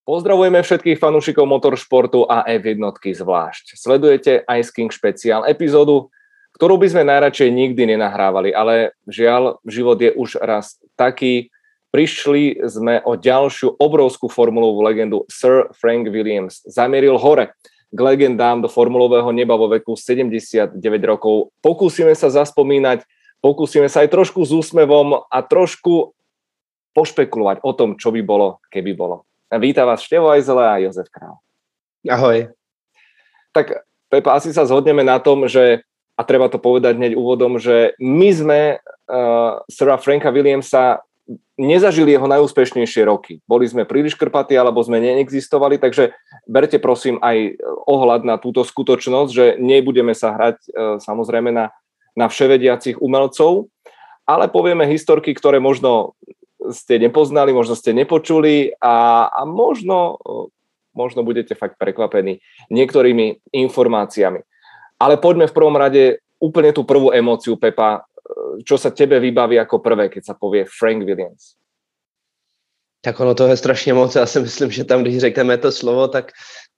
Pozdravujeme všetkých fanúšikov motoršportu a F1 zvlášť. Sledujete Ice King špeciál epizódu, ktorú by sme najradšej nikdy nenahrávali, ale žiaľ, život je už raz taký. Prišli sme o ďalšiu obrovskú formulovú legendu. Sir Frank Williams zamieril hore k legendám do formulového neba vo veku 79 rokov. Pokúsime sa zaspomínať, pokúsime sa aj trošku s úsmevom a trošku pošpekulovať o tom, čo by bolo, keby bolo. Vítam vás Števo Ajzele a Jozef Král. Ahoj. Tak Pepa, asi sa zhodneme na tom, že, a treba to povedať hneď úvodom, že my sme Sira Franka Williamsa nezažili jeho najúspešnejšie roky. Boli sme príliš krpatí, alebo sme neexistovali, takže berte prosím aj ohľad na túto skutočnosť, že nebudeme sa hrať samozrejme na vševediacich umelcov, ale povieme historky, ktoré možno ste nepoznali, možno ste nepočuli a možno budete fakt prekvapení niektorými informáciami. Ale poďme v prvom rade úplne tú prvú emóciu, Pepa. Čo sa tebe vybaví ako prvé, keď sa povie Frank Williams? Tak ono toho je strašně moc. Já si myslím, že tam, když řekneme to slovo, tak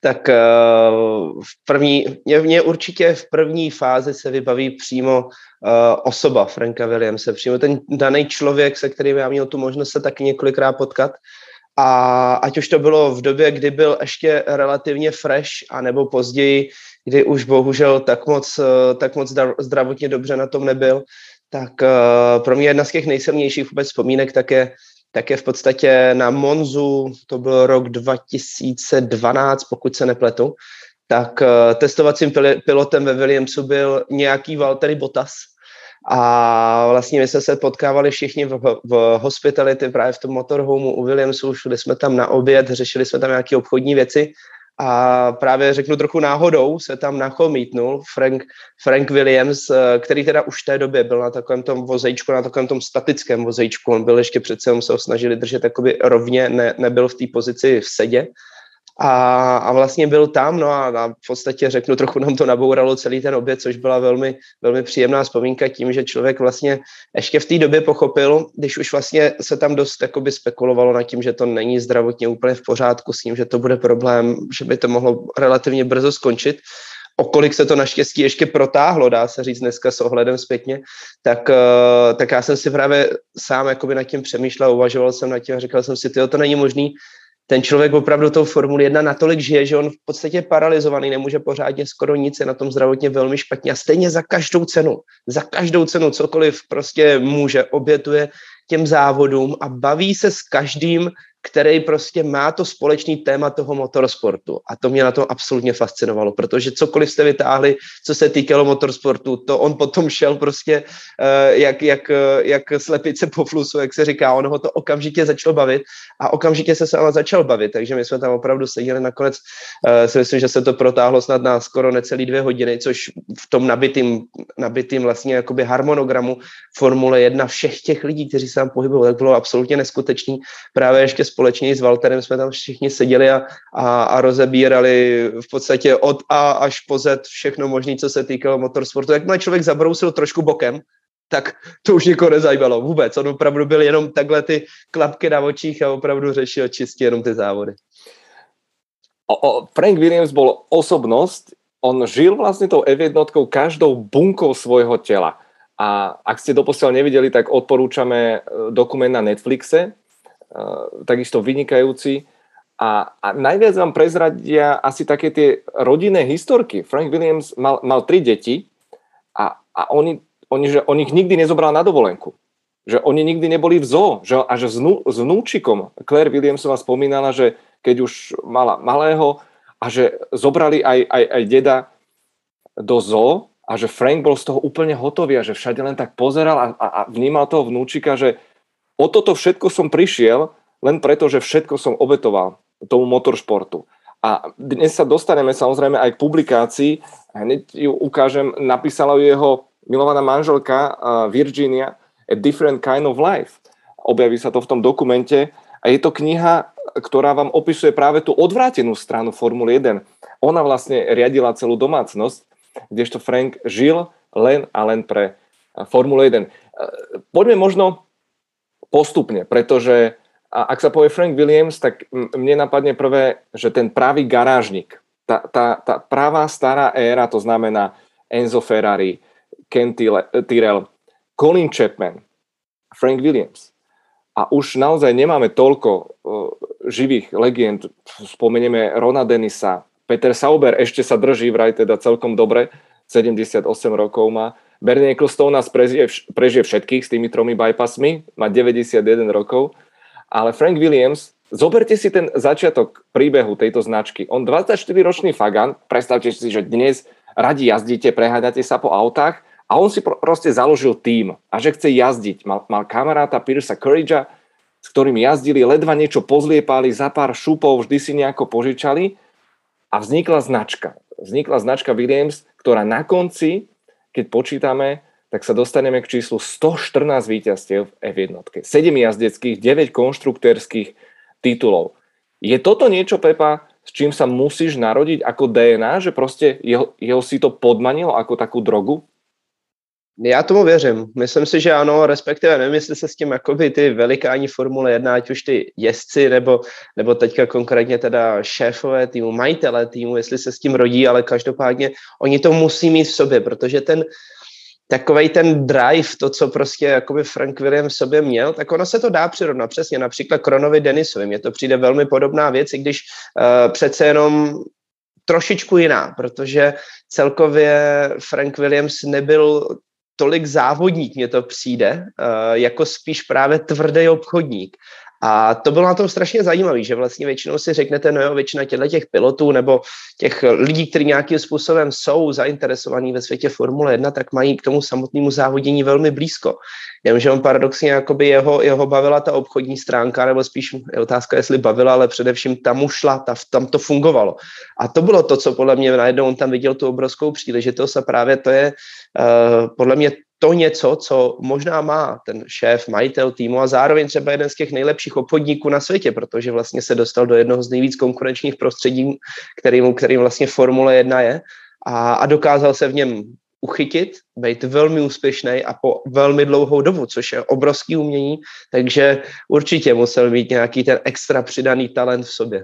mě určitě v první fázi se vybaví přímo osoba Franka Williamse, přímo ten daný člověk, se kterým já měl tu možnost se taky několikrát potkat. A ať už to bylo v době, kdy byl ještě relativně fresh, anebo později, kdy už bohužel tak moc zdravotně dobře na tom nebyl, tak pro mě jedna z těch nejsilnějších vůbec vzpomínek tak je v podstatě na Monzu, to byl rok 2012, pokud se nepletu, tak testovacím pilotem ve Williamsu byl nějaký Valtteri Bottas. A vlastně my jsme se potkávali všichni v hospitality, právě v tom motorhomeu u Williamsu, šli jsme tam na oběd, řešili jsme tam nějaké obchodní věci a právě řeknu trochu náhodou se tam nachomítnul Frank Williams, který teda už v té době byl na takovém tom vozejčku, na takovém tom statickém vozejčku, on byl ještě přece, se ho snažili držet jakoby rovně, nebyl v té pozici v sedě. A vlastně byl tam, no a v podstatě řeknu, trochu nám to nabouralo celý ten oběd, což byla velmi, velmi příjemná vzpomínka tím, že člověk vlastně ještě v té době pochopil, když už vlastně se tam dost jakoby spekulovalo nad tím, že to není zdravotně úplně v pořádku s tím, že to bude problém, že by to mohlo relativně brzo skončit, okolik se to naštěstí ještě protáhlo, dá se říct dneska s ohledem zpětně, tak já jsem si právě sám jakoby nad tím přemýšlel, uvažoval jsem nad tím a říkal jsem si, to není možný. Ten člověk opravdu tou Formuli 1 natolik žije, že on v podstatě je paralizovaný, nemůže pořádně skoro nic, je na tom zdravotně velmi špatně a stejně za každou cenu cokoliv prostě může, obětuje těm závodům a baví se s každým, který prostě má to společný téma toho motorsportu. A to mě na tom absolutně fascinovalo, protože cokoliv jste vytáhli, co se týkalo motorsportu, to on potom šel prostě jak slepice po flusu, jak se říká, on ho to okamžitě začalo bavit a okamžitě se sama začal bavit, takže my jsme tam opravdu seděli nakonec, si myslím, že se to protáhlo snad na skoro necelý 2 hodiny, což v tom nabitým vlastně jakoby harmonogramu Formule 1 všech těch lidí, kteří se tam pohybovali, tak bylo absolutně neskutečný. Právě ještě společně s Valtterem jsme tam všichni seděli a rozebírali v podstatě od A až po Z všechno možné, co se týkalo motorsportu. Jakmile člověk zabrousil trošku bokem, tak to už nikoho nezajímalo vůbec. On opravdu byl jenom takhle ty klapky na očích a opravdu řešil čistě jenom ty závody. Frank Williams bol osobnosť, on žil vlastne tou F1 každou bunkou svojho tela. A ak ste doposiaľ nevideli, tak odporúčame dokument na Netflixe, takisto vynikajúci. A najviac vám prezradia asi také tie rodinné historky. Frank Williams mal 3 deti a on ich nikdy nezobral na dovolenku. Že oni nikdy neboli v zoo. Že až s vnúčikom Claire Williamsová spomínala, že keď už mala malého a že zobrali aj deda do zoo a že Frank bol z toho úplne hotový a že všade len tak pozeral a vnímal toho vnúčika, že o toto všetko som prišiel len preto, že všetko som obetoval tomu motoršportu. A dnes sa dostaneme samozrejme aj k publikácii. Hneď ju ukážem, napísala ju jeho milovaná manželka Virginia, A Different Kind of Life. Objaví sa to v tom dokumente a je to kniha, ktorá vám opisuje práve tú odvrátenú stranu Formuly 1. Ona vlastne riadila celú domácnosť, kdežto Frank žil len a len pre Formulu 1. Poďme možno postupne, pretože A ak sa povie Frank Williams, tak mne napadne prvé, že ten pravý garážnik, tá pravá stará éra, to znamená Enzo Ferrari, Ken Tyrrell, Colin Chapman, Frank Williams. A už naozaj nemáme toľko živých legend. Spomenieme Rona Dennisa, Peter Sauber ešte sa drží vraj teda celkom dobre, 78 rokov má. Bernie Ecclestone nás prežije všetkých s tými 3 bypassmi, má 91 rokov. Ale Frank Williams, zoberte si ten začiatok príbehu tejto značky. On 24-ročný Fagan, predstavte si, že dnes radi jazdíte, preháňate sa po autách a on si proste založil tím a že chce jazdiť. Mal kamaráta Piercea Couragea, s ktorým jazdili, ledva niečo pozliepali, za pár šupov vždy si nejako požičali a vznikla značka. Vznikla značka Williams, ktorá na konci, keď počítame, tak sa dostaneme k číslu 114 víťazstiev v F1. 7 jazdeckých, 9 konštruktérskych titulov. Je toto niečo, Pepa, s čím sa musíš narodiť ako DNA, že proste jeho si to podmanilo ako takú drogu? Já tomu věřím. Myslím si, že ano, respektive nevím, jestli se s tím jakoby ty velikáni Formule 1, ať už ty jezdci, nebo teďka konkrétně teda šéfové týmu, majitele týmu, jestli se s tím rodí, ale každopádně oni to musí mít v sobě, protože takovej ten drive, to, co prostě jakoby Frank Williams v sobě měl, tak ono se to dá přirovnat přesně, například Kronovi Dennisovi. Mně to přijde velmi podobná věc, i když přece jenom trošičku jiná, protože celkově Frank Williams nebyl tolik závodník, mně to přijde, jako spíš právě tvrdý obchodník. A to bylo na tom strašně zajímavé, že vlastně většinou si řeknete, no jo, většina těch pilotů nebo těch lidí, kteří nějakým způsobem jsou zainteresovaní ve světě Formule 1, tak mají k tomu samotnému závodění velmi blízko. Jenomže on paradoxně jakoby jeho bavila ta obchodní stránka, nebo spíš je otázka, jestli bavila, ale především tam ušla, tam to fungovalo. A to bylo to, co podle mě najednou on tam viděl tu obrovskou příležitost a právě to je podle mě to něco, co možná má ten šéf, majitel týmu a zároveň třeba jeden z těch nejlepších obchodníků na světě, protože vlastně se dostal do jednoho z nejvíc konkurenčních prostředí, kterým vlastně Formule 1 je a dokázal se v něm uchytit, být velmi úspěšný a po velmi dlouhou dobu, což je obrovský umění, takže určitě musel mít nějaký ten extra přidaný talent v sobě.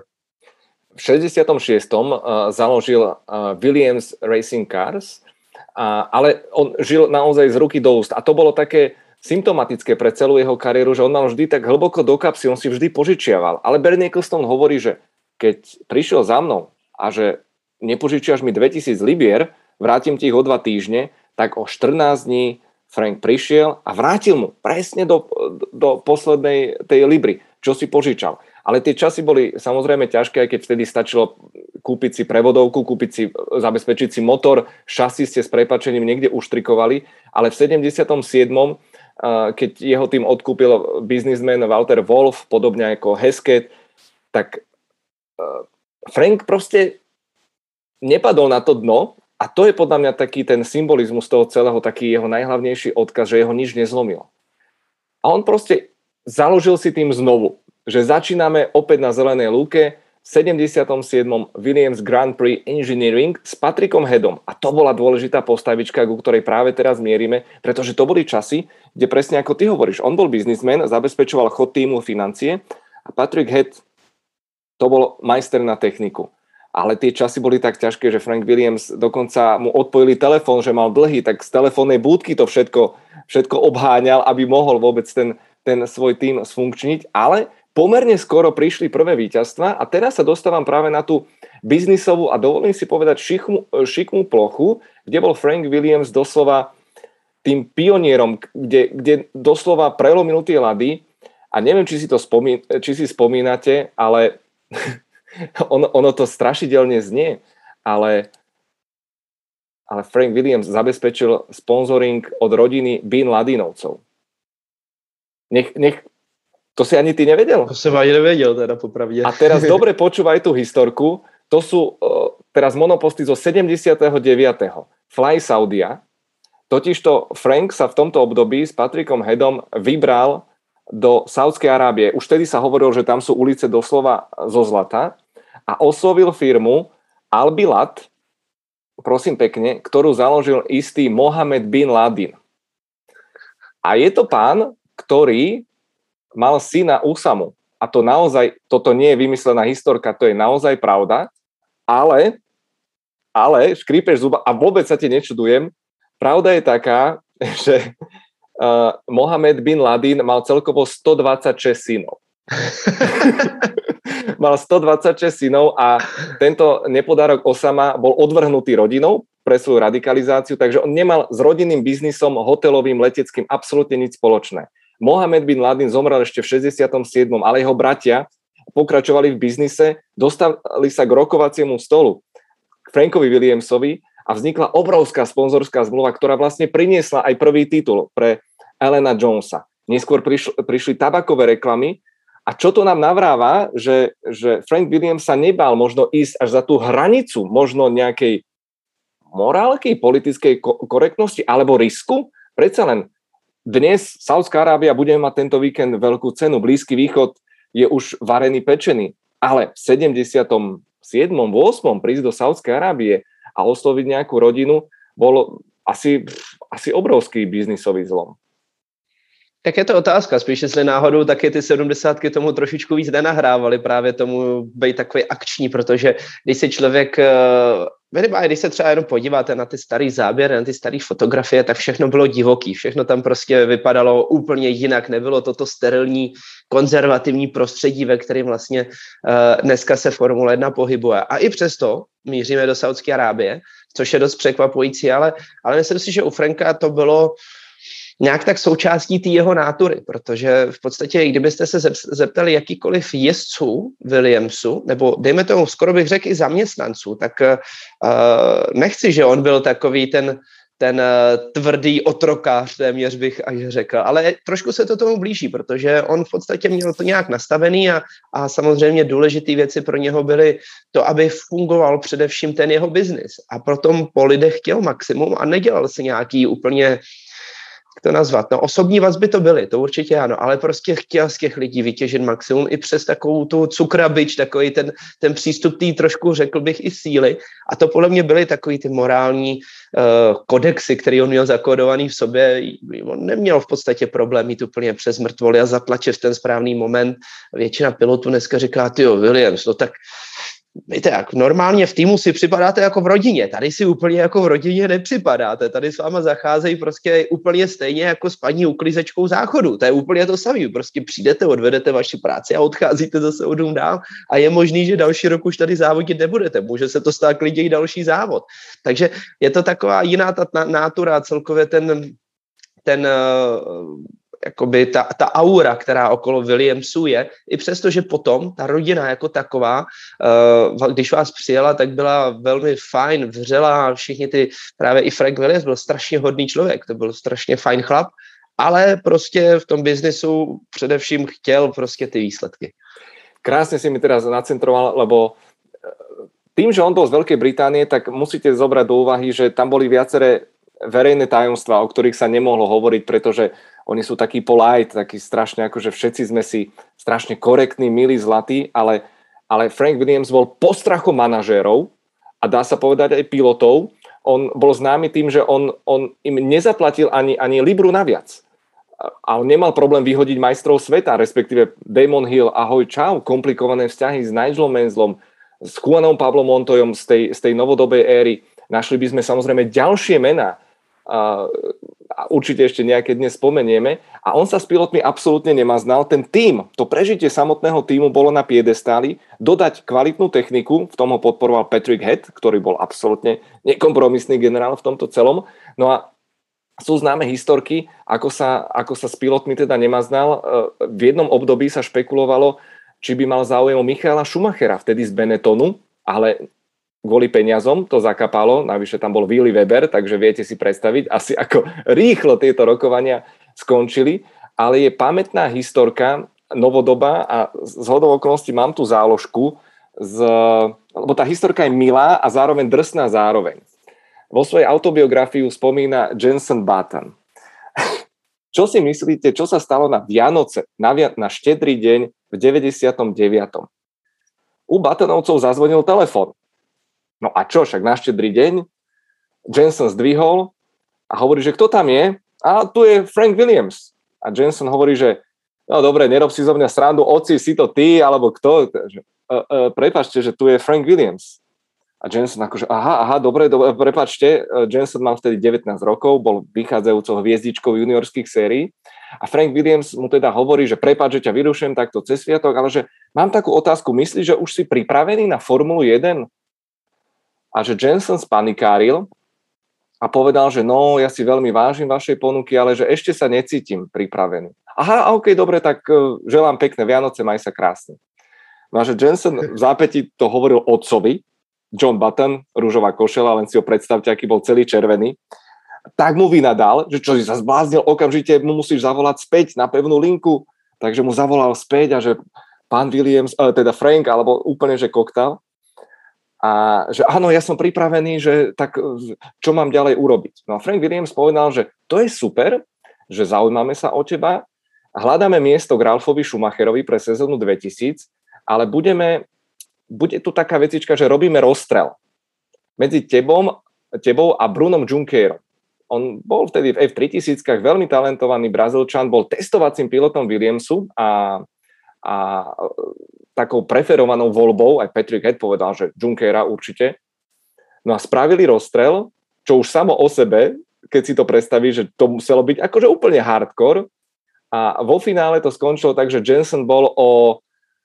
V 66. založil Williams Racing Cars, ale on žil naozaj z ruky do úst. A to bolo také symptomatické pre celú jeho kariéru, že on mal vždy tak hlboko do kapsy, on si vždy požičiaval. Ale Bernie Ecclestone hovorí, že keď prišiel za mnou a že nepožičiaš mi 2000 libier, vrátim ti ich o 2 týždne, tak o 14 dní Frank prišiel a vrátil mu presne do poslednej tej libry, čo si požičal. Ale tie časy boli samozrejme ťažké, aj keď vtedy stačilo kúpiť si prevodovku, zabezpečiť si motor, šasy ste s prepáčením niekde uštrikovali, ale v 77. Keď jeho tým odkúpil biznismen Walter Wolf, podobne ako Hesketh, tak Frank proste nepadol na to dno a to je podľa mňa taký ten symbolizmus toho celého, taký jeho najhlavnejší odkaz, že jeho nič nezlomilo. A on proste založil si tým znovu, že začíname opäť na zelenej lúke v 77. Williams Grand Prix Engineering s Patrickom Headom. A to bola dôležitá postavička, ku ktorej práve teraz mierime, pretože to boli časy, kde presne ako ty hovoríš, on bol biznismen, zabezpečoval chod týmu, financie a Patrick Head to bol majster na techniku. Ale tie časy boli tak ťažké, že Frank Williams dokonca mu odpojili telefón, že mal dlhý, tak z telefónnej búdky to všetko obháňal, aby mohol vôbec ten svoj tým sfunkčniť, ale pomerne skoro prišli prvé víťazstvá a teraz sa dostávam práve na tú biznisovú a dovolím si povedať šikmú plochu, kde bol Frank Williams doslova tým pionierom, kde doslova prelomil tie ľady a neviem, či si spomínate, ale ono to strašidelne znie, ale Frank Williams zabezpečil sponzoring od rodiny Bin Ladinovcov. To si ani ty nevedel? To som ani nevedel, teda popravde. A teraz dobre počúvaj tú historku. To sú teraz monoposty zo 79. Fly Saudia. Totižto Frank sa v tomto období s Patrickom Headom vybral do Saudskej Arábie. Už vtedy sa hovorilo, že tam sú ulice doslova zo zlata. A oslovil firmu Albilat, prosím pekne, ktorú založil istý Mohamed bin Ladin. A je to pán, ktorý mal syna Usamu. a to naozaj, toto nie je vymyslená historka, to je naozaj pravda, ale škrípeš zuba a vôbec sa ti nečudujem, pravda je taká, že Mohamed bin Ladin mal celkovo 126 synov. Mal 126 synov a tento nepodárok Osama bol odvrhnutý rodinou pre svoju radikalizáciu, takže on nemal s rodinným biznisom, hotelovým, leteckým absolútne nič spoločné. Mohamed bin Ladin zomrel ešte v 67., ale jeho bratia pokračovali v biznise, dostali sa k rokovaciemu stolu k Frankovi Williamsovi a vznikla obrovská sponzorská zmluva, ktorá vlastne priniesla aj prvý titul pre Allena Jonesa. Neskôr prišli tabakové reklamy a čo to nám navráva, že Frank Williams sa nebál možno ísť až za tú hranicu možno nejakej morálky, politickej korektnosti alebo risku. Predsa len dnes Saudská Arábia bude mať tento víkend veľkú cenu. Blízky východ je už varený, pečený. Ale v 77. 8. prísť do Saudskej Arábie a osloviť nejakú rodinu bol asi obrovský biznisový zlom. Tak je to otázka, spíš jestli náhodou taky ty 70 tomu trošičku víc nenahrávaly právě tomu být takový akční, protože když se člověk, když se třeba jenom podíváte na ty starý záběry, na ty staré fotografie, tak všechno bylo divoký, všechno tam prostě vypadalo úplně jinak, nebylo toto sterilní, konzervativní prostředí, ve kterém vlastně dneska se Formule 1 pohybuje. A i přesto míříme do Saudské Arábie, což je dost překvapující, ale myslím si, že u Franka to bylo nějak tak součástí té jeho nátury, protože v podstatě, kdybyste se zeptali jakýkoliv jezdců Williamsu, nebo dejme tomu, skoro bych řekl i zaměstnanců, tak nechci, že on byl takový ten tvrdý otrokář, téměř bych až řekl, ale trošku se to tomu blíží, protože on v podstatě měl to nějak nastavený a samozřejmě důležité věci pro něho byly to, aby fungoval především ten jeho biznis a proto po lidech chtěl maximum a nedělal si nějaký úplně to nazvat. No, osobní vazby to byly, to určitě ano, ale prostě chtěl z těch lidí vytěžit maximum i přes takovou tu cukrabič, takový ten přístup tý trošku, řekl bych, i síly. A to podle mě byly takový ty morální kodexy, který on měl zakódovaný v sobě. On neměl v podstatě problém mít úplně přes mrtvoly a zatlačit v ten správný moment. Většina pilotů dneska říká, tyjo, Williams, no tak víte, jak normálně v týmu si připadáte jako v rodině, tady si úplně jako v rodině nepřipadáte, tady s váma zacházejí prostě úplně stejně jako s paní uklízečkou záchodu, to je úplně to samé, prostě přijdete, odvedete vaši práci a odcházíte zase o dům dál a je možný, že další rok už tady závodit nebudete, může se to stát klidně i další závod, takže je to taková jiná ta nátura, celkově ten jakoby ta aura, která okolo Williamsu je, i přesto, že potom ta rodina jako taková, když vás přijela, tak byla velmi fajn, vřelá, všichni právě i Frank Williams byl strašně hodný člověk, to byl strašně fajn chlap, ale prostě v tom biznesu především chtěl prostě ty výsledky. Krásne si mi teraz nacentroval, lebo tým, že on bol z Veľkej Británie, tak musíte zobrať do úvahy, že tam boli viaceré verejné tajomstvá, o ktorých sa nemohlo hovoriť, pretože oni sú takí polite, takí strašne, akože všetci sme si strašne korektní, milí, zlatí, ale Frank Williams bol postrachom manažérov a dá sa povedať aj pilotov. On bol známy tým, že on im nezaplatil ani libru naviac. A on nemal problém vyhodiť majstrov sveta, respektíve Damon Hill, ahoj, čau, komplikované vzťahy s Nigelom Manselom, s Juanom Pablom Montoyom z tej novodobej éry. Našli by sme samozrejme ďalšie mená, a určite ešte nejaké dnes spomenieme a on sa s pilotmi absolútne nemaznal. Ten tím, to prežitie samotného tímu bolo na piedestáli, dodať kvalitnú techniku, v tom ho podporoval Patrick Head, ktorý bol absolútne nekompromisný generál v tomto celom. No a sú známe historky, ako sa s pilotmi teda nemaznal. V jednom období sa špekulovalo, či by mal záujem o Michaela Schumachera, vtedy z Benettonu, ale kvôli peniazom to zakapalo, navyše tam bol Willy Weber, takže viete si predstaviť asi ako rýchlo tieto rokovania skončili, ale je pamätná historka, novodobá a zhodou okolností mám tu záložku, lebo tá historka je milá a zároveň drsná zároveň. Vo svojej autobiografii spomína Jenson Button. Čo si myslíte, čo sa stalo na Vianoce, na štedrý deň v 99. U Buttonovcov zazvonil telefón. No a čo, však na štedrý deň Jenson zdvihol a hovorí, že kto tam je? A tu je Frank Williams. A Jenson hovorí, že no dobre, nerob si zo mňa srandu, oci, si to ty, alebo kto? Prepáčte, že tu je Frank Williams. A Jensen akože, aha, dobre, prepáčte, Jensen mal vtedy 19 rokov, bol vychádzajúcou hviezdičkou juniorských sérií a Frank Williams mu teda hovorí, že prepáč, že ťa vyrušujem takto cez sviatok, ale že mám takú otázku, myslíš, že už si pripravený na Formulu 1? A že Jensen spanikáril a povedal, že no, ja si veľmi vážim vašej ponuky, ale že ešte sa necítim pripravený. Aha, OK, dobre, tak želám pekné Vianoce, maj sa krásne. No a že Jensen v zápäti to hovoril otcovi, John Button, rúžová košela, len si ho predstavte, aký bol celý červený, tak mu vynadal, že čo si sa zbláznil, okamžite mu musíš zavolať späť na pevnú linku, takže mu zavolal späť a že pán Williams, teda Frank, alebo úplne, že koktal. A že áno, ja som pripravený, že tak čo mám ďalej urobiť. No a Frank Williams povedal, že to je super, že zaujímame sa o teba, hľadáme miesto k Ralfovi Schumacherovi pre sezónu 2000, ale bude tu taká vecička, že robíme rozstrel medzi tebou a Brunom Junckerom. On bol vtedy v F3000, veľmi talentovaný Brazílčan, bol testovacím pilotom Williamsu a takou preferovanou voľbou, aj Patrick Head povedal, že Junckera určite. No a spravili rozstrel, čo už samo o sebe, keď si to predstavíš, že to muselo byť akože úplne hardcore. A vo finále to skončilo tak, že Jensen bol o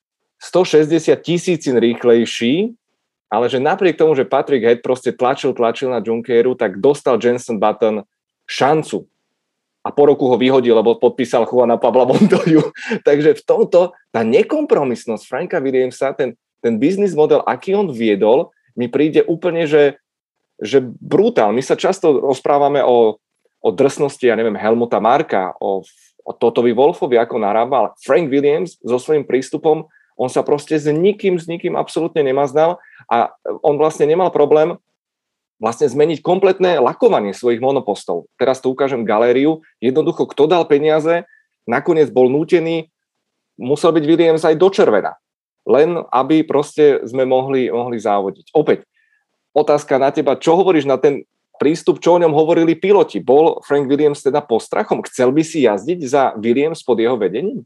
160 000 rýchlejší, ale že napriek tomu, že Patrick Head proste tlačil na Junckeru, tak dostal Jenson Button šancu. A po roku ho vyhodil, lebo podpísal Juana Pabla Montoyu. Takže v tomto tá nekompromisnosť Franka Williamsa, ten biznis model, aký on viedol, mi príde úplne, že brutál. My sa často rozprávame o drsnosti, ja neviem, Helmuta Marka, o Totovi Wolffovi, ako narábal. Frank Williams so svojím prístupom, on sa proste s nikým absolútne nemaznal a on vlastne nemal problém vlastne zmeniť kompletné lakovanie svojich monopostov. Teraz tu ukážem galériu. Jednoducho, kto dal peniaze, nakoniec bol nútený, musel byť Williams aj do červena. Len aby proste sme mohli závodiť. Opäť, otázka na teba, čo hovoríš na ten prístup, čo o ňom hovorili piloti? Bol Frank Williams teda postrachom? Chcel by si jazdiť za Williams pod jeho vedením?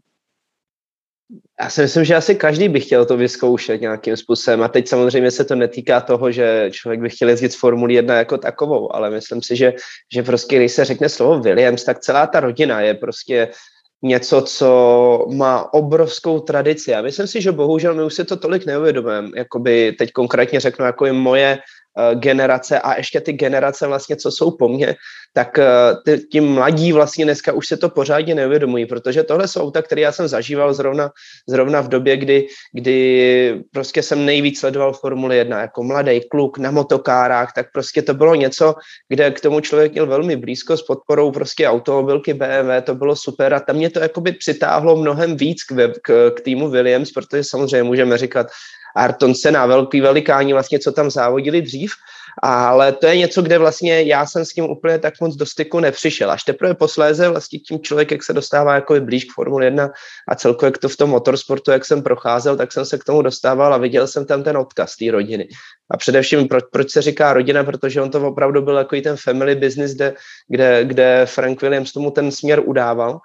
Já si myslím, že asi každý by chtěl to vyzkoušet nějakým způsobem a teď samozřejmě se to netýká toho, že člověk by chtěl jezdit z Formuli 1 jako takovou, ale myslím si, že prostě když se řekne slovo Williams, tak celá ta rodina je prostě něco, co má obrovskou tradici. A myslím si, že bohužel my už si to tolik neuvědomujeme, jakoby teď konkrétně řeknu, jako je moje generace a ještě ty generace vlastně, co jsou po mně, tak ti mladí vlastně dneska už se to pořádně neuvědomují, protože tohle jsou auta, které já jsem zažíval zrovna v době, kdy prostě jsem nejvíc sledoval Formuli 1 jako mladý kluk na motokárách, tak prostě to bylo něco, kde k tomu člověk měl velmi blízko s podporou prostě automobilky BMW, to bylo super a tam mě to jakoby přitáhlo mnohem víc k týmu Williams, protože samozřejmě můžeme říkat Ayrton Senna, velký velikáni vlastně, co tam závodili dřív, ale to je něco, kde vlastně já jsem s tím úplně tak moc do styku nepřišel. Až teprve posléze vlastně tím člověk, jak se dostává jako blíž k Formule 1 a celkově to v tom motorsportu, jak jsem procházel, tak jsem se k tomu dostával a viděl jsem tam ten odkaz té rodiny. A především, proč se říká rodina, protože on to opravdu byl jako ten family business, kde Frank Williams tomu ten směr udával,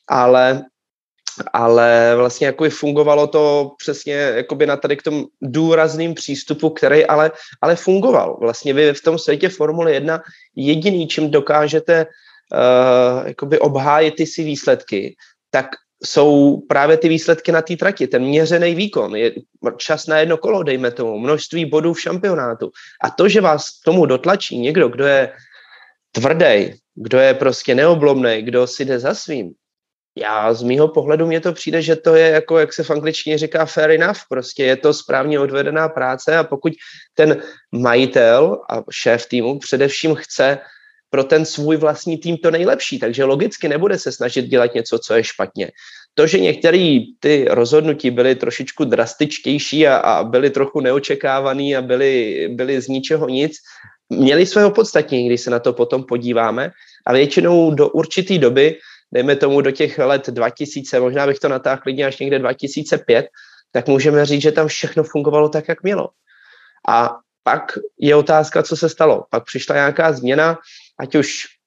ale vlastně jako fungovalo to přesně jakoby na tady k tomu důrazným přístupu, který ale fungoval. Vlastně vy v tom světě Formule 1 jediný, čím dokážete jakoby obhájit ty si výsledky, tak jsou právě ty výsledky na té trati, ten měřený výkon, je čas na jedno kolo, dejme tomu, množství bodů v šampionátu. A to, že vás k tomu dotlačí někdo, kdo je tvrdý, kdo je prostě neoblomnej, kdo si jde za svým, já z mýho pohledu mně to přijde, že to je jako, jak se v angličtině říká fair enough, prostě je to správně odvedená práce a pokud ten majitel a šéf týmu především chce pro ten svůj vlastní tým to nejlepší, takže logicky nebude se snažit dělat něco, co je špatně. To, že některé ty rozhodnutí byly trošičku drastičtější a byly trochu neočekávaný a byly z ničeho nic, měly svého podstatnění, když se na to potom podíváme a většinou do určité doby, dejme tomu do těch let 2000, možná bych to natáhl klidně až někde 2005, tak můžeme říct, že tam všechno fungovalo tak, jak mělo. A pak je otázka, co se stalo. Pak přišla nějaká změna, ať už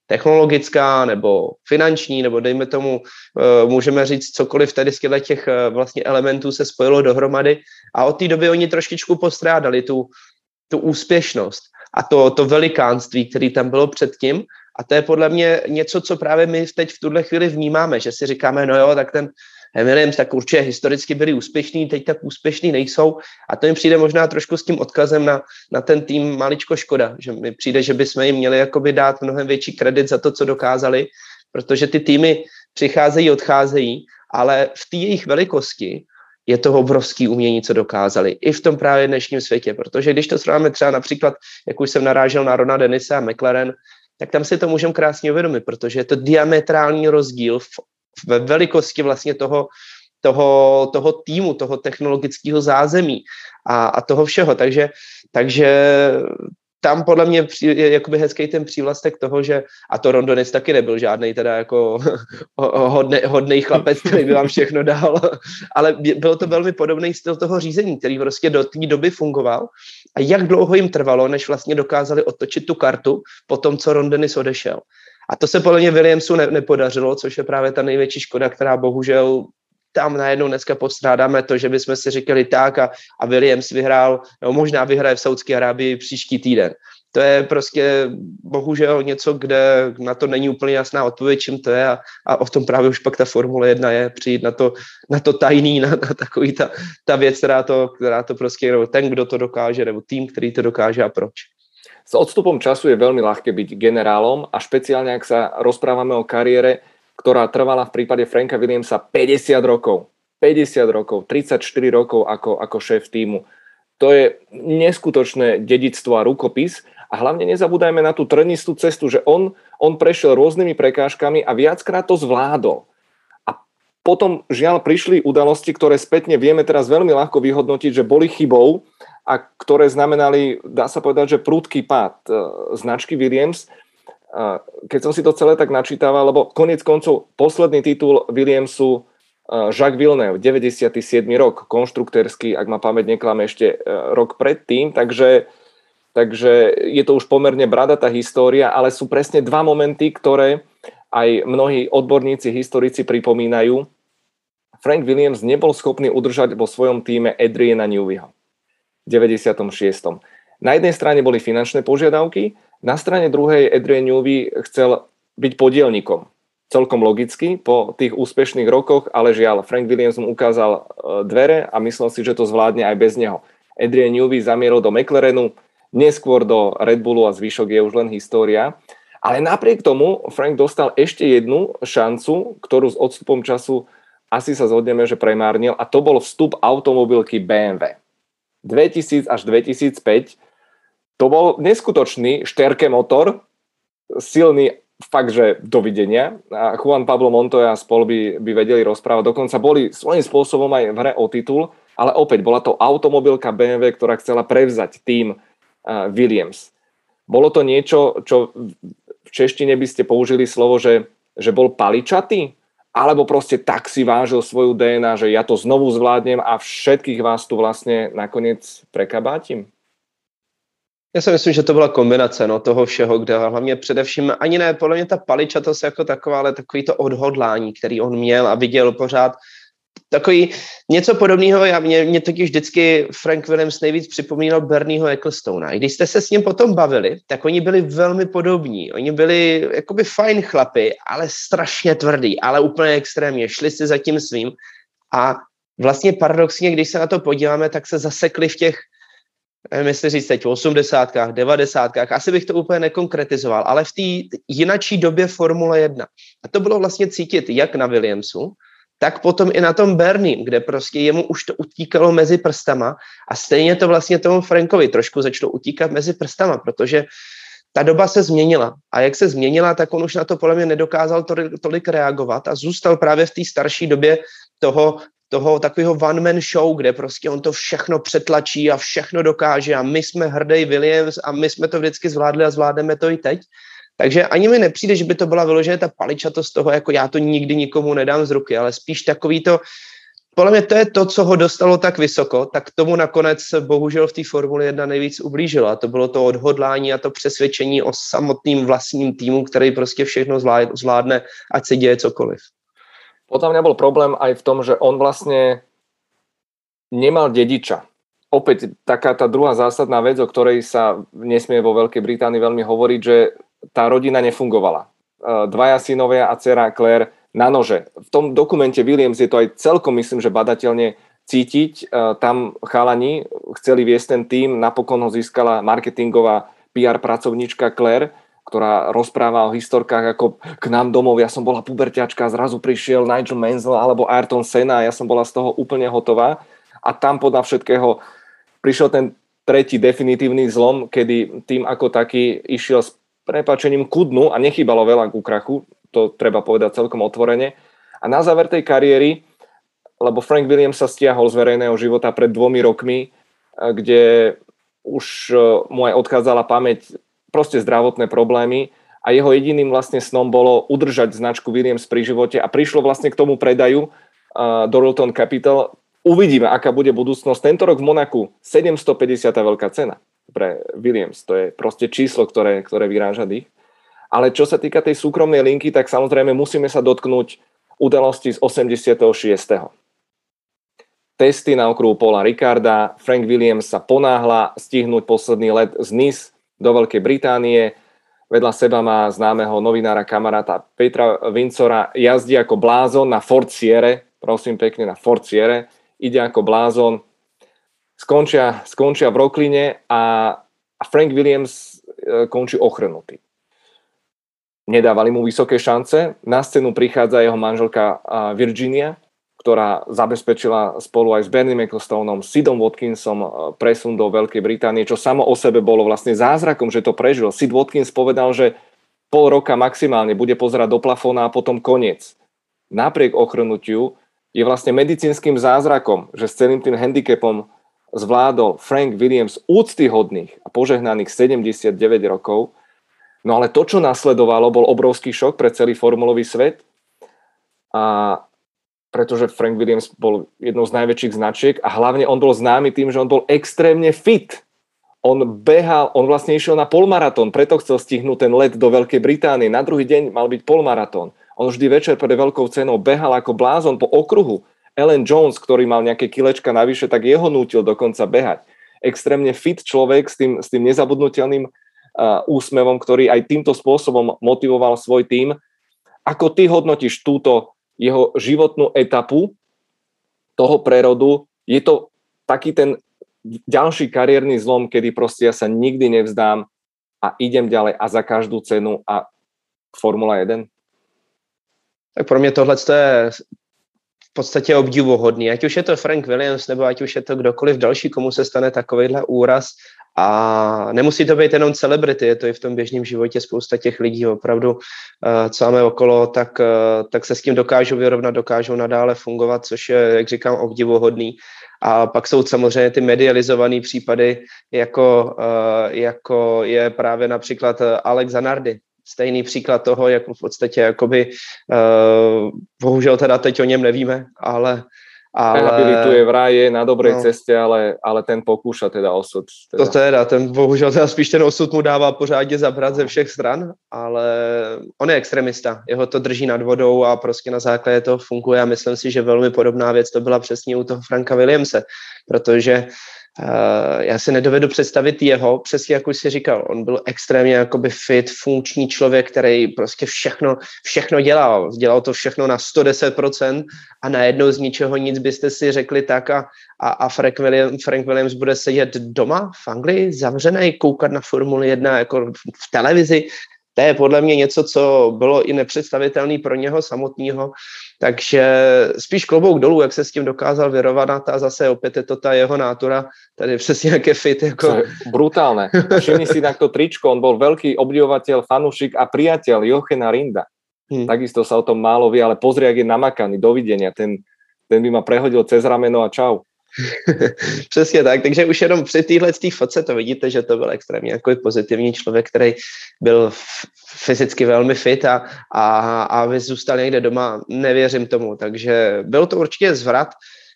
technologická nebo finanční, nebo dejme tomu, můžeme říct cokoliv tady z těch vlastně elementů se spojilo dohromady a od té doby oni trošičku postrádali tu úspěšnost a to velikánství, který tam bylo předtím. A to je podle mě něco, co právě my teď v tuhle chvíli vnímáme, že si říkáme, no jo, tak ten Williams tak určitě historicky byli úspěšní, teď tak úspěšní nejsou. A to mi přijde možná trošku s tím odkazem na ten tým maličko škoda, že mi přijde, že bychom jim měli jakoby dát mnohem větší kredit za to, co dokázali, protože ty týmy přicházejí, odcházejí, ale v té jejich velikosti je to obrovský umění, co dokázali. I v tom právě dnešním světě, protože když to srovnáme třeba například, jak už jsem narážel na Rona Dennise a McLaren, tak tam si to můžeme krásně uvědomit, protože je to diametrální rozdíl ve velikosti vlastně toho týmu, toho technologického zázemí a toho všeho. Takže tam podle mě je jakoby hezký ten přívlastek toho, že a to Ron Dennis taky nebyl žádnej teda jako hodnej chlapec, který by vám všechno dal, ale byl to velmi podobný styl toho řízení, který prostě do té doby fungoval a jak dlouho jim trvalo, než vlastně dokázali otočit tu kartu po tom, co Ron Dennis odešel. A to se podle mě Williamsu nepodařilo, což je právě ta největší škoda, která bohužel tam najednou dneska postrádáme to, že bychom si říkali tak a Williams vyhrál, no možná vyhraje v Saudské Arábii příští týden. To je prostě bohužel něco, kde na to není úplně jasná odpověď, čím to je a o tom právě už pak ta Formule 1 je, přijít na to tajný, na takový ta věc, která to prostě, nebo ten, kdo to dokáže, nebo tým, který to dokáže a proč. S odstupom času je veľmi ľahké byť generálom a špeciálne, ak sa rozprávame o kariére, ktorá trvala v prípade Franka Williamsa 50 rokov, 34 rokov ako šéf tímu. To je neskutočné dedičstvo a rukopis a hlavne nezabúdajme na tú trnistú cestu, že on prešiel rôznymi prekážkami a viackrát to zvládol. A potom žiaľ prišli udalosti, ktoré spätne vieme teraz veľmi ľahko vyhodnotiť, že boli chybou a ktoré znamenali, dá sa povedať, že prudký pád značky Williams. Keď som si to celé tak načítaval, lebo koniec koncov posledný titul Williamsu Jacques Villeneuve, 97. rok, konštruktérsky, ak ma pamäť neklame, ešte rok predtým, takže je to už pomerne bradatá história, ale sú presne dva momenty, ktoré aj mnohí odborníci, historici pripomínajú. Frank Williams nebol schopný udržať vo svojom týme Adriana Neweyho v 96. Na jednej strane boli finančné požiadavky, na strane druhej Adrian Newey chcel byť podielnikom. Celkom logicky po tých úspešných rokoch, ale žiaľ, Frank Williams mu ukázal dvere a myslel si, že to zvládne aj bez neho. Adrian Newey zamieril do McLarenu, neskôr do Red Bullu a zvyšok je už len história. Ale napriek tomu Frank dostal ešte jednu šancu, ktorú s odstupom času asi sa zhodneme, že premárnil, a to bol vstup automobilky BMW. 2000 až 2005 to bol neskutočný štérke motor, silný, fakt, že dovidenia. A Juan Pablo Montoya a spol by vedeli rozprávať. Dokonca boli svojím spôsobom aj v hre o titul, ale opäť bola to automobilka BMW, ktorá chcela prevzať tým Williams. Bolo to niečo, čo v češtine by ste použili slovo, že bol paličatý? Alebo proste tak si vážil svoju DNA, že ja to znovu zvládnem a všetkých vás tu vlastne nakoniec prekabátim? Já si myslím, že to byla kombinace toho všeho, kde hlavně především, ani ne, podle mě ta paličatost jako taková, ale takový to odhodlání, který on měl a viděl pořád. Takový něco podobného, mě totiž vždycky Frank Williams nejvíc připomínal Bernieho Ecclestona. I když jste se s ním potom bavili, tak oni byli velmi podobní. Oni byli jakoby fajn chlapy, ale strašně tvrdý, ale úplně extrémně. Šli si za tím svým a vlastně paradoxně, když se na to podíváme, tak se zasekli v těch, nevím, jestli říct teď v 80, 90, asi bych to úplně nekonkretizoval, ale v té jinačí době Formule 1. A to bylo vlastně cítit jak na Williamsu, tak potom i na tom Bernie, kde prostě jemu už to utíkalo mezi prstama a stejně to vlastně tomu Frankovi trošku začalo utíkat mezi prstama, protože ta doba se změnila a jak se změnila, tak on už na to podle mě nedokázal tolik reagovat a zůstal právě v té starší době toho takového one-man show, kde prostě on to všechno přetlačí a všechno dokáže a my jsme hrdý Williams a my jsme to vždycky zvládli a zvládneme to i teď. Takže ani mi nepřijde, že by to byla vyloženě ta paličatost toho, jako já to nikdy nikomu nedám z ruky, ale spíš takový to, podle mě to je to, co ho dostalo tak vysoko, tak tomu nakonec bohužel v té Formuli 1 nejvíc ublížilo. A to bylo to odhodlání a to přesvědčení o samotným vlastním týmu, který prostě všechno zvládne, ať se děje cokoliv. Podľa mňa bol problém aj v tom, že on vlastne nemal dediča. Opäť taká tá druhá zásadná vec, o ktorej sa nesmie vo Veľkej Británii veľmi hovoriť, že tá rodina nefungovala. Dvaja synovia a dcera Claire na nože. V tom dokumente Williams je to aj celkom, myslím, že badateľne cítiť. Tam chalani chceli viesť ten tým, napokon ho získala marketingová PR pracovníčka Claire, ktorá rozpráva o historkách ako k nám domov, ja som bola puberťačka, zrazu prišiel Nigel Mansell alebo Ayrton Senna a ja som bola z toho úplne hotová. A tam podľa všetkého prišiel ten tretí definitívny zlom, kedy tým ako taký išiel s prepáčením ku dnu a nechýbalo veľa ku krachu, to treba povedať celkom otvorene. A na záver tej kariéry, lebo Frank Williams sa stiahol z verejného života pred 2 rokmi, kde už mu aj odchádzala pamäť, proste zdravotné problémy a jeho jediným vlastne snom bolo udržať značku Williams pri živote a prišlo vlastne k tomu predaju Dorilton Capital. Uvidíme, aká bude budúcnosť. Tento rok v Monaku 750 veľká cena pre Williams. To je proste číslo, ktoré vyráža dých. Ale čo sa týka tej súkromnej linky, tak samozrejme musíme sa dotknúť udalosti z 86. Testy na okruhu Paula Ricarda. Frank Williams sa ponáhla stihnúť posledný let z Nice do Veľkej Británie. Vedľa seba má známeho novinára, kamaráta Petra Vincora. Jazdí ako blázon na Ford Sierra. Prosím pekne, na Ford Sierra. Ide ako blázon. Skončia v Rockline a Frank Williams končí ochrnutý. Nedávali mu vysoké šance. Na scénu prichádza jeho manželka Virginia, ktorá zabezpečila spolu aj s Bernie Ecclestoneom, Sidom Watkinsom presun do Veľkej Británie, čo samo o sebe bolo vlastne zázrakom, že to prežil. Sid Watkins povedal, že pol roka maximálne bude pozerať do plafóna a potom koniec. Napriek ochrnutiu je vlastne medicínskym zázrakom, že s celým tým handicapom zvládol Frank Williams úctyhodných a požehnaných 79 rokov. No ale to, čo nasledovalo, bol obrovský šok pre celý formulový svet. Pretože Frank Williams bol jednou z najväčších značiek a hlavne on bol známy tým, že on bol extrémne fit. On behal, on vlastne išiel na polmaratón, preto chcel stihnúť ten let do Veľkej Británie. Na druhý deň mal byť polmaratón. On vždy večer pred veľkou cenou behal ako blázon po okruhu. Alan Jones, ktorý mal nejaké kilečka navyše, tak jeho nútil dokonca behať. Extrémne fit človek s tým nezabudnutelným úsmevom, ktorý aj týmto spôsobom motivoval svoj tím. Ako ty hodnotíš túto jeho životnú etapu toho prerodu? Je to taký ten ďalší kariérny zlom, kedy proste ja sa nikdy nevzdám a idem ďalej a za každú cenu a Formula 1? Tak pro mě tohle je v podstatě obdivuhodný. Ať už je to Frank Williams, nebo ať už je to kdokoliv další, komu se stane takovýhle úraz. A nemusí to být jenom celebrity, je to i v tom běžném životě spousta těch lidí opravdu, co máme okolo, tak se s tím dokážou vyrovnat, dokážou nadále fungovat, což je, jak říkám, obdivuhodný. A pak jsou samozřejmě ty medializované případy, jako je právě například Alex Zanardi. Stejný příklad toho, jak v podstatě jakoby, bohužel teda teď o něm nevíme, ale rehabilituje vraj, je na dobrej ceste, ale ten pokúša teda osud. Bohužel spíš ten osud mu dává pořádně zabrat ze všech stran, ale on je extremista, jeho to drží nad vodou a prostě na základě toho funguje a myslím si, že velmi podobná věc to byla přesně u toho Franka Williamse, protože já si nedovedu představit jeho, přesně jak už si říkal, on byl extrémně jakoby fit, funkční člověk, který prostě všechno dělal to všechno na 110% a najednou z ničeho nic byste si řekli tak a Frank Williams bude sedět doma v Anglii, zavřený, koukat na Formuli 1 jako v televizi. To je podle mě něco, co bylo i nepředstavitelné pro něho samotného. Takže spíš klobouk dolů, jak se s tím dokázal vyrovnat a zase opět je to ta jeho nátura, tady přesně jak je fit. Jako... Brutálne. Všimni si na to tričko, on bol veľký obdivovateľ, fanúšik a priateľ Jochena Rinda. Takisto sa o tom málo vie, ale pozri, jak je namakaný, dovidenia. Ten by ma prehodil cez rameno a čau. Přesně tak, takže už jenom při téhle fotce to vidíte, že to byl extrémně jako pozitivní člověk, který byl fyzicky velmi fit a aby zůstal někde doma, nevěřím tomu, takže byl to určitě zvrat.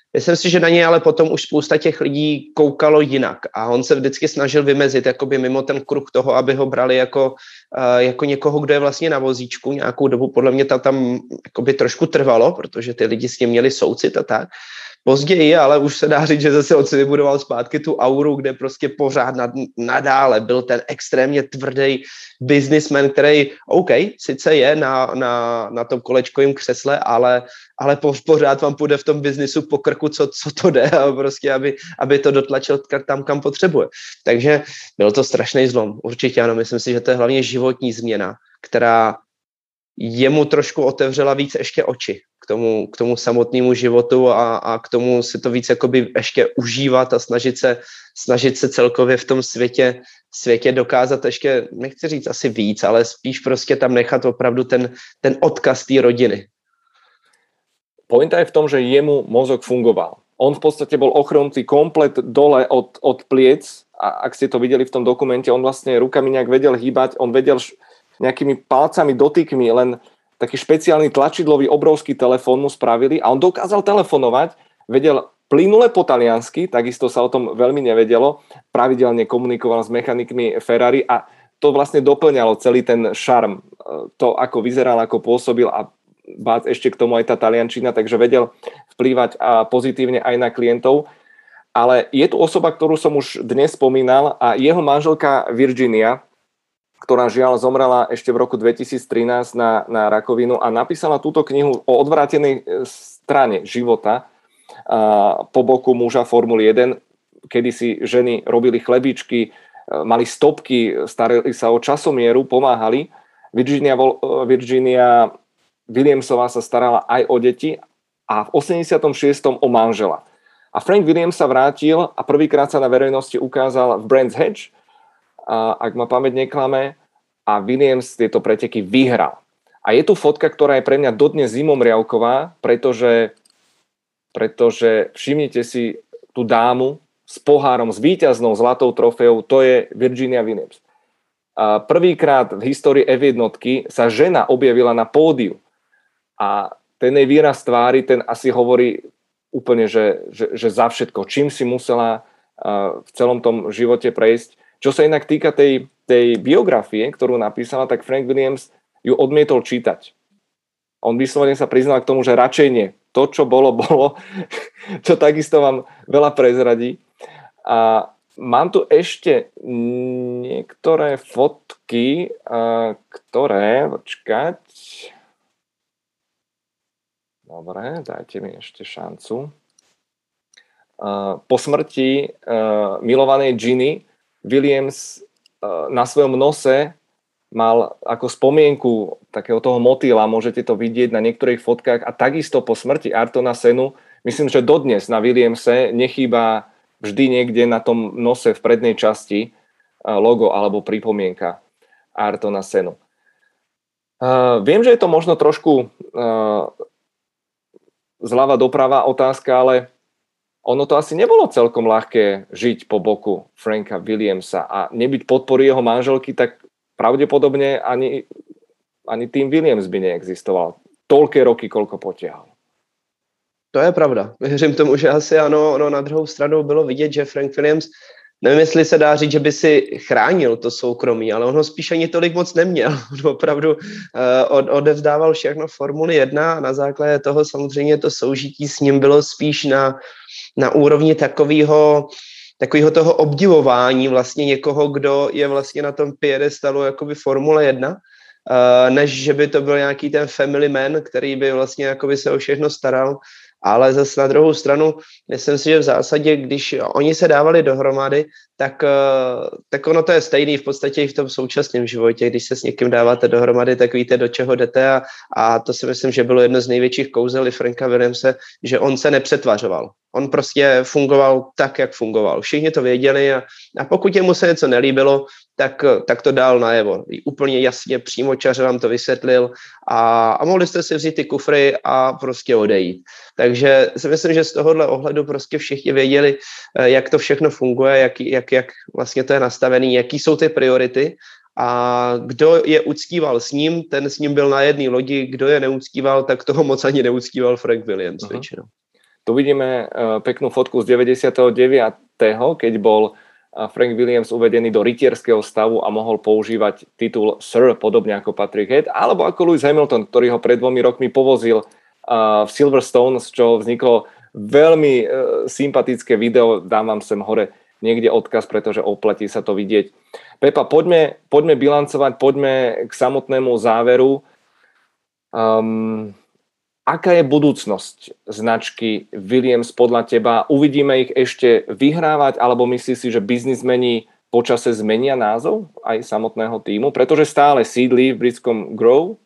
Myslím si, že na něj ale potom už spousta těch lidí koukalo jinak a on se vždycky snažil vymezit jakoby mimo ten kruh toho, aby ho brali jako někoho, kdo je vlastně na vozíčku. Nějakou dobu podle mě to tam jakoby trošku trvalo, protože ty lidi s ním měli soucit a tak. Později, ale už se dá říct, že zase on si vybudoval zpátky tu auru, kde prostě pořád nadále byl ten extrémně tvrdý businessman, který, OK, sice je na tom kolečkovém křesle, ale pořád vám půjde v tom biznisu po krku, co to jde, a prostě, aby to dotlačil tam, kam potřebuje. Takže byl to strašný zlom. Určitě ano, myslím si, že to je hlavně životní změna, která jemu trošku otevřela víc ještě oči k tomu samotnému životu a k tomu si to víc jakoby ještě užívat a snažit se celkově v tom světě dokázat ještě, nechci říct asi víc, ale spíš prostě tam nechat opravdu ten odkaz té rodiny. Pointa je v tom, že jemu mozog fungoval. On v podstate bol ochrnutý komplet dole od pliec a ak ste to videli v tom dokumente, on vlastne rukami nejak vedel hýbať, on vedel nejakými palcami, dotykmi, len taký špeciálny tlačidlový obrovský telefón mu spravili a on dokázal telefonovať, vedel plynule po taliansky, takisto sa o tom veľmi nevedelo, pravidelne komunikoval s mechanikmi Ferrari a to vlastne doplňalo celý ten šarm, to ako vyzeral, ako pôsobil a bác ešte k tomu aj tá taliančina, takže vedel vplývať pozitívne aj na klientov. Ale je tu osoba, ktorú som už dnes spomínal a jeho manželka Virginia, ktorá žiaľ zomrela ešte v roku 2013 na rakovinu a napísala túto knihu o odvrátenej strane života po boku muža Formuly 1, kedy si ženy robili chlebičky, mali stopky, starali sa o časomieru, pomáhali. Virginia Williamsová sa starala aj o deti a v 86. o manžela. A Frank Williams sa vrátil a prvýkrát sa na verejnosti ukázal v Brands Hatch, ak ma pamäť neklame, a Williams tieto preteky vyhral. A je tu fotka, ktorá je pre mňa dodnes zimomriavková, pretože všimnite si tú dámu s pohárom, s víťaznou zlatou trofeou, to je Virginia Williams. Prvýkrát v histórii F1 sa žena objavila na pódiu a ten jej výraz tvári, ten asi hovorí úplne, že za všetko, čím si musela v celom tom živote prejsť. Čo sa inak týka tej biografie, ktorú napísala, tak Frank Williams ju odmietol čítať. On vyslovene sa priznal k tomu, že radšej nie. To, čo bolo, čo takisto vám veľa prezradí. A mám tu ešte niektoré fotky, ktoré, počkať. Dobre, dajte mi ešte šancu. Po smrti milovanej Ginny Williams na svojom nose mal ako spomienku takého toho motýla, môžete to vidieť na niektorých fotkách a takisto po smrti Ayrtona Senu, myslím, že dodnes na Williamse nechýba vždy niekde na tom nose v prednej časti logo alebo pripomienka Ayrtona Senu. Viem, že je to možno trošku zľava doprava otázka, ale ono to asi nebolo celkom ľahké žiť po boku Franka Williamsa a nebyť podpory jeho manželky, tak pravdepodobne ani tým Williams by neexistoval. Toľké roky, koľko potiahol. To je pravda. Věřím tomu, že asi ano, na druhou stranu bylo vidět, že Frank Williams, nevím, jestli se dá říct, že by si chránil to soukromí, ale on ho spíš ani tolik moc neměl. On opravdu odevzdával všechno Formuli 1 a na základě toho samozřejmě to soužití s ním bylo spíš na úrovni takového toho obdivování vlastně někoho, kdo je vlastně na tom piedestalu jakoby Formule 1, než že by to byl nějaký ten family man, který by vlastně jakoby se o všechno staral. Ale zase na druhou stranu, myslím si, že v zásadě, když oni se dávali dohromady, tak ono to je stejný v podstatě i v tom současném životě. Když se s někým dáváte dohromady, tak víte, do čeho jdete a to si myslím, že bylo jedno z největších kouzel i Franka Williamse, že on se nepřetvařoval. On prostě fungoval tak, jak fungoval. Všichni to věděli a pokud jemu se něco nelíbilo, tak to dál najevo. Úplně jasně, přímočaře vám to vysvětlil a mohli jste si vzít ty kufry a prostě odejít. Takže si myslím, že z tohohle ohledu prostě všichni věděli, jak to všechno funguje, jak vlastně to je nastavený, jaký jsou ty priority a kdo je uctíval s ním, ten s ním byl na jedné lodi, kdo je neuctíval, tak toho moc ani neuctíval Frank Williams většinou. Tu vidíme peknú fotku z 99., keď bol Frank Williams uvedený do rytierského stavu a mohol používať titul Sir, podobne ako Patrick Head, alebo ako Lewis Hamilton, ktorý ho pred 2 rokmi povozil v Silverstone, z čoho vzniklo veľmi sympatické video, dám vám sem hore niekde odkaz, pretože oplatí sa to vidieť. Pepa, poďme bilancovať, poďme k samotnému záveru. Aká je budúcnosť značky Williams podľa teba? Uvidíme ich ešte vyhrávať, alebo myslíš si, že biznismeni počase zmenia názov aj samotného týmu? Pretože stále sídlí v britskom Grove?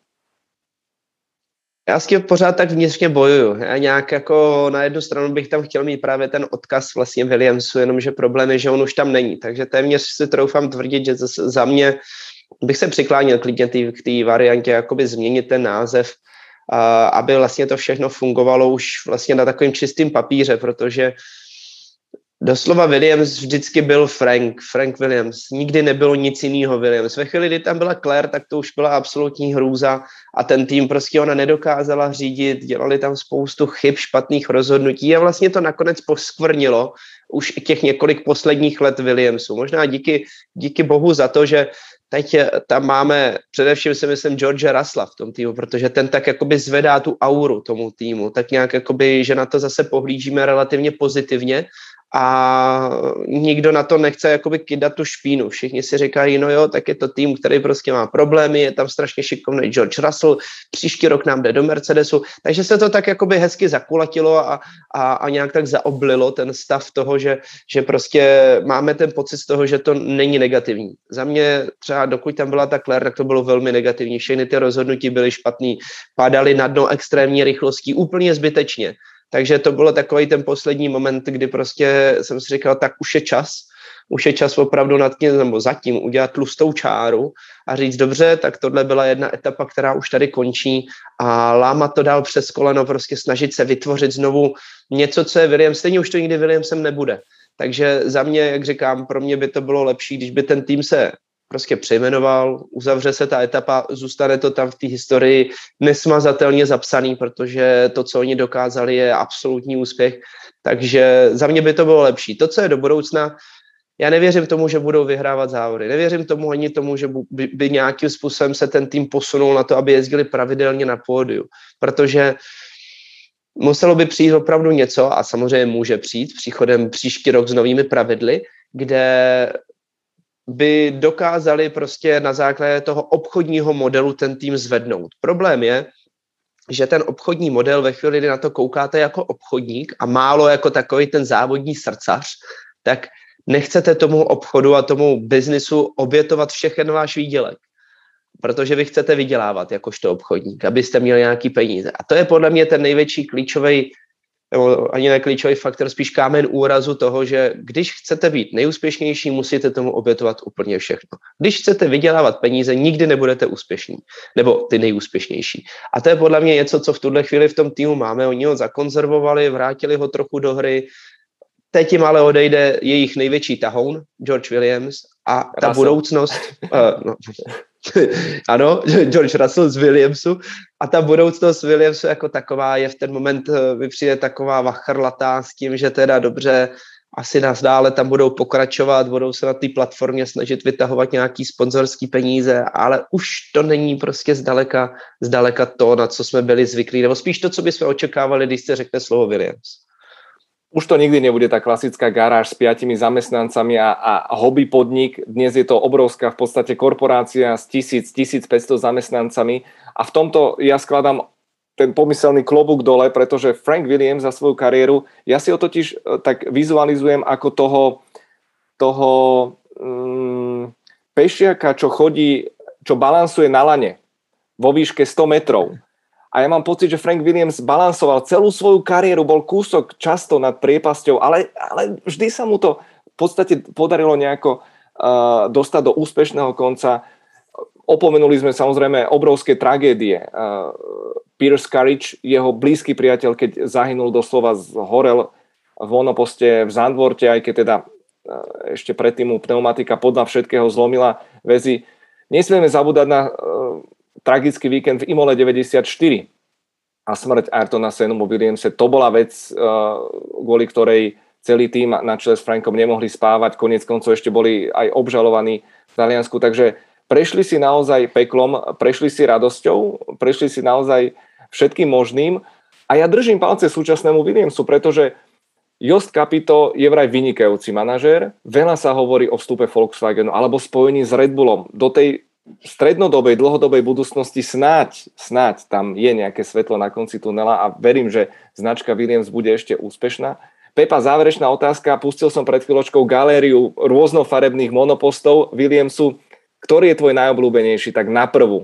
Já s tím pořád tak vnitřně bojuju. Já nějak jako na jednu stranu bych tam chtěl mít právě ten odkaz vlastně Williamsu, jenomže problém je, že on už tam není. Takže téměř si troufám tvrdit, že za mě bych se přikláněl klidně k té variantě jakoby změnit ten název, aby vlastně to všechno fungovalo už vlastně na takovém čistém papíře, protože doslova Williams vždycky byl Frank Williams. Nikdy nebylo nic jiného Williams. Ve chvíli, kdy tam byla Claire, tak to už byla absolutní hrůza a ten tým prostě ona nedokázala řídit, dělali tam spoustu chyb, špatných rozhodnutí a vlastně to nakonec poskvrnilo už těch několik posledních let Williamsu. Možná díky bohu za to, že teď tam máme především si myslím George Russella v tom týmu, protože ten tak jakoby zvedá tu auru tomu týmu, tak nějak jakoby, že na to zase pohlížíme relativně pozitivně a nikdo na to nechce jakoby kydat tu špínu. Všichni si říkají, no jo, tak je to tým, který prostě má problémy, je tam strašně šikovný George Russell, příští rok nám jde do Mercedesu, takže se to tak jakoby hezky zakulatilo a nějak tak zaoblilo ten stav toho, že prostě máme ten pocit z toho, že to není negativní. Za mě třeba dokud tam byla ta Claire, tak to bylo velmi negativní. Všechny ty rozhodnutí byly špatný, padaly na dno extrémní rychlostí úplně zbytečně. Takže to bylo takový ten poslední moment, kdy prostě jsem si říkal, tak už je čas opravdu nad tím, nebo zatím udělat tlustou čáru a říct, dobře, tak tohle byla jedna etapa, která už tady končí a lámat to dál přes koleno, prostě snažit se vytvořit znovu něco, co je Williams, stejně už to nikdy Williamsem nebude. Takže za mě, jak říkám, pro mě by to bylo lepší, když by ten tým se prostě přejmenoval, uzavře se ta etapa, zůstane to tam v té historii nesmazatelně zapsaný, protože to, co oni dokázali, je absolutní úspěch. Takže za mě by to bylo lepší. To, co je do budoucna, já nevěřím tomu, že budou vyhrávat závody. Nevěřím tomu ani tomu, že by nějakým způsobem se ten tým posunul na to, aby jezdili pravidelně na pódiu. Protože muselo by přijít opravdu něco, a samozřejmě může přijít příchodem příští rok s novými pravidly, kde by dokázali prostě na základě toho obchodního modelu ten tým zvednout. Problém je, že ten obchodní model ve chvíli, kdy na to koukáte jako obchodník a málo jako takový ten závodní srdcař, tak nechcete tomu obchodu a tomu biznisu obětovat všechen váš výdělek. Protože vy chcete vydělávat jakožto obchodník, abyste měli nějaký peníze. A to je podle mě ten největší klíčový, nebo ani ne klíčový faktor, spíš kámen úrazu toho, že když chcete být nejúspěšnější, musíte tomu obětovat úplně všechno. Když chcete vydělávat peníze, nikdy nebudete úspěšní, nebo ty nejúspěšnější. A to je podle mě něco, co v tuhle chvíli v tom týmu máme. Oni ho zakonzervovali, vrátili ho trochu do hry. Teď jim ale odejde jejich největší tahoun, George Williams, a ta budoucnost... ano, George Russell z Williamsu a ta budoucnost Williamsu jako taková je v ten moment, mi přijde taková vachrlatá s tím, že teda dobře, asi nás dále tam budou pokračovat, budou se na té platformě snažit vytahovat nějaký sponzorský peníze, ale už to není prostě zdaleka to, na co jsme byli zvyklí, nebo spíš to, co bychom očekávali, když se řekne slovo Williams. Už to nikdy nebude tá klasická garáž s 5 zamestnancami a hobby podnik. Dnes je to obrovská v podstate korporácia s 1500 zamestnancami a v tomto ja skladám ten pomyselný klobúk dole, pretože Frank Williams za svoju kariéru, ja si ho totiž tak vizualizujem ako toho pešiaka, čo balansuje na lane vo výške 100 metrov. A ja mám pocit, že Frank Williams balansoval celú svoju kariéru, bol kúsok často nad priepasťou, ale vždy sa mu to v podstate podarilo nejako dostať do úspešného konca. Opomenuli sme samozrejme obrovské tragédie. Pierce Courage, jeho blízky priateľ, keď zahynul doslova, zhorel v monoposte v Zandvoorte, aj keď teda ešte predtým mu pneumatika podľa všetkého zlomila väzy. Nesmieme zabúdať na tragický víkend v Imole 94. a smrť Ayrtona Senu vo Williamse, to bola vec, kvôli ktorej celý tým na čele s Frankom nemohli spávať, koniec koncov ešte boli aj obžalovaní v Taliansku, takže prešli si naozaj peklom, prešli si radosťou, prešli si naozaj všetkým možným a ja držím palce súčasnému Williamsu, pretože Jost Capito je vraj vynikajúci manažér, veľa sa hovorí o vstupe Volkswagenu alebo spojení s Red Bullom. Do tej strednodobej, dlhodobej budúcnosti snáď tam je nejaké svetlo na konci tunela a verím, že značka Williams bude ešte úspešná. Pepa, záverečná otázka. Pustil som pred chvíľočkou galériu rôznofarebných monopostov Williamsu. Ktorý je tvoj najobľúbenejší, tak na prvú?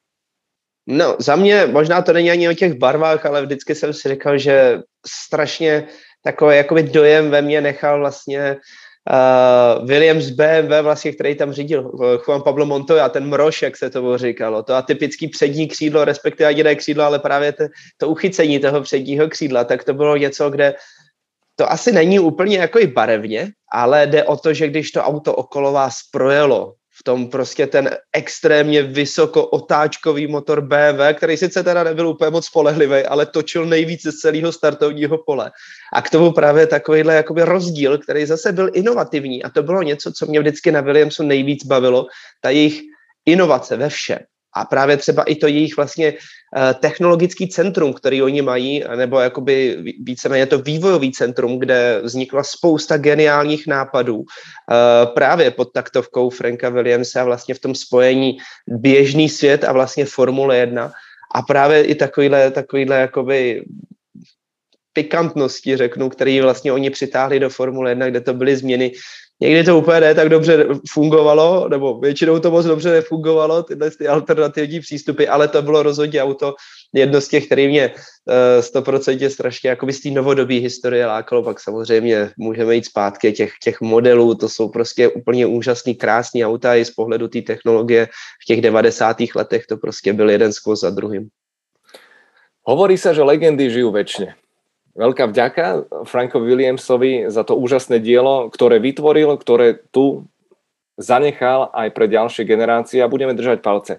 No, za mě možná to není ani o těch barvách, ale vždycky jsem si říkal, že strašně takový jakoby dojem ve mně nechal vlastně Williams BMW, vlastně, který tam řídil Juan Pablo Montoya, ten mrož, jak se tomu říkalo, to atypický přední křídlo, respektive jediné křídlo, ale právě to uchycení toho předního křídla, tak to bylo něco, kde to asi není úplně jako i barevně, ale jde o to, že když to auto okolo vás projelo, v tom prostě ten extrémně vysoko otáčkový motor BMW, který sice teda nebyl úplně moc spolehlivý, ale točil nejvíc z celého startovního pole. A k tomu právě takovýhle jakoby rozdíl, který zase byl inovativní. A to bylo něco, co mě vždycky na Williamsu nejvíc bavilo, ta jejich inovace ve všem. A právě třeba i to jejich vlastně technologický centrum, který oni mají, nebo jakoby víceméně to vývojový centrum, kde vznikla spousta geniálních nápadů právě pod taktovkou Franka Williamse a vlastně v tom spojení běžný svět a vlastně Formule 1 a právě i takovýhle jakoby pikantnosti, řeknu, který vlastně oni přitáhli do Formule 1, kde to byly změny. Někdy to úplně ne tak dobře fungovalo, nebo většinou to moc dobře nefungovalo, tyhle ty alternativní přístupy, ale to bylo rozhodně auto jedno z těch, který mě 100% strašně jakoby z té novodobé historie lákalo. Pak samozřejmě můžeme jít zpátky těch modelů, to jsou prostě úplně úžasný, krásný auta i z pohledu té technologie. V těch 90. letech to prostě byl jeden skvost za druhým. Hovorí sa, že legendy žijú večne. Veľká vďaka Frankovi Williamsovi za to úžasné dielo, ktoré vytvoril, ktoré tu zanechal aj pre ďalšie generácie a budeme držať palce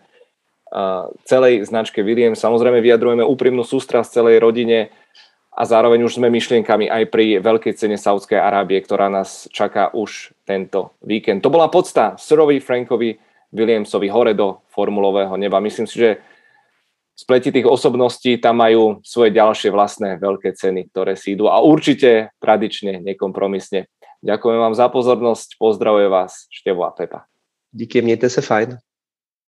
celej značke Williams. Samozrejme vyjadrujeme úprimnú sústrasť celej rodine a zároveň už sme myšlienkami aj pri veľkej cene Saúdskej Arábie, ktorá nás čaká už tento víkend. To bola podsta Sirovi Frankovi Williamsovi hore do formulového neba. Myslím si, že spletitých osobností tam majú svoje ďalšie vlastné veľké ceny, ktoré si idú a určite tradične, nekompromisne. Ďakujem vám za pozornosť, pozdravuje vás Števo a Pepa. Díky, mějte se fajn.